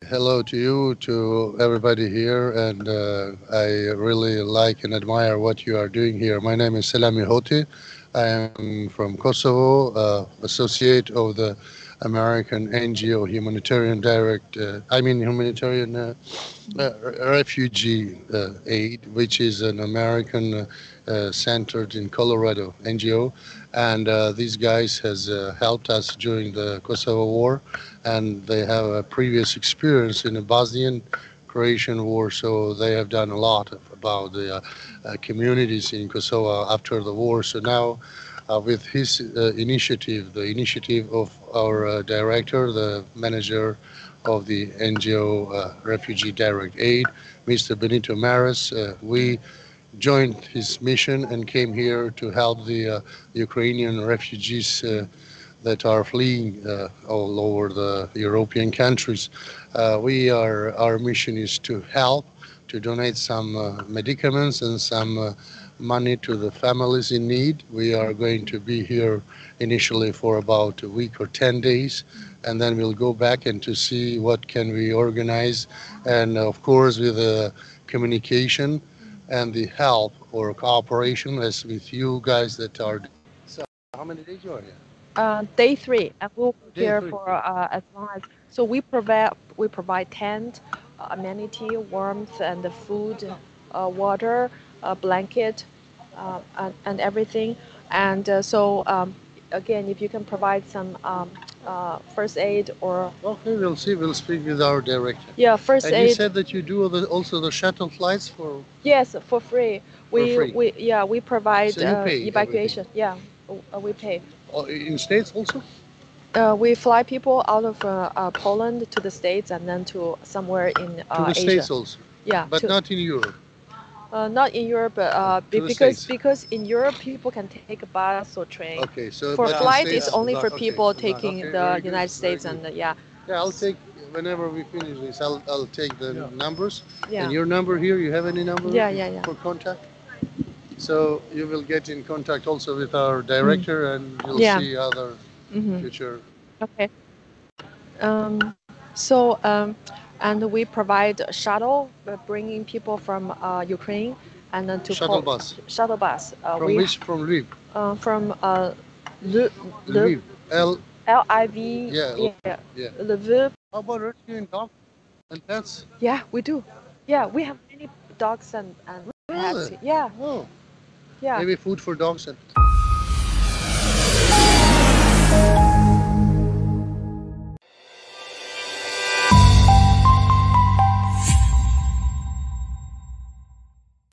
Hello to you, to everybody here, and I really like and admire what you are doing here. My name is Selami Hoti. I am from Kosovo, associate of the American NGO Humanitarian Humanitarian Refugee Aid, which is an American centered in Colorado NGO, and these guys has helped us during the Kosovo War, and they have a previous experience in the Bosnian Croatian War, so they have done a lot about the communities in Kosovo after the war. So now, with his initiative, the initiative of our director, the manager of the NGO Refugee Direct Aid, Mr. Benito Maris, we joined his mission and came here to help the Ukrainian refugees that are fleeing all over the European countries. Our mission is to help, to donate some medicaments and some money to the families in need. We are going to be here initially for about a week or 10 days, and then we'll go back and to see what can we organize, and of course with the communication and the help or cooperation as with you guys that are. So, how many days you are here? Day three, and we'll be Day here three. for as long as. So we provide tent, amenity, warmth, and the food, water, blanket, and everything. And again, if you can provide some first aid or Okay, we'll see. We'll speak with our director. yeah, first And you aid. said that you do also the shuttle flights Yes, for free. for We free. we yeah we So provide you pay everything. evacuation. Yeah, we pay. In States also? We fly people out of Poland to the States and then to somewhere in To the Asia. States also, Yeah, but to not in Europe. not in Europe, but To the because States. in Europe people can take a bus or train. Okay, so For but in flight, it's States, only for not. Okay, people not. taking Okay, the very good, United very States good. and yeah, Yeah, I'll take whenever we finish this. I'll take the numbers. And yeah, your number here. You have any number yeah, yeah, yeah. for contact? So you will get in contact also with our Mm. director, and you'll Yeah. see other Mm-hmm. future Okay. So and we provide a shuttle bringing people from Ukraine and then to shuttle bus. shuttle bus. From which? From Lviv. From L Lviv. L. Liv, Yeah. yeah, Yeah. Lviv. How about rescuing dogs and pets? Yeah, we do. Yeah, we have many dogs and pets. Really? Yeah, Oh, yeah. maybe food for dogs and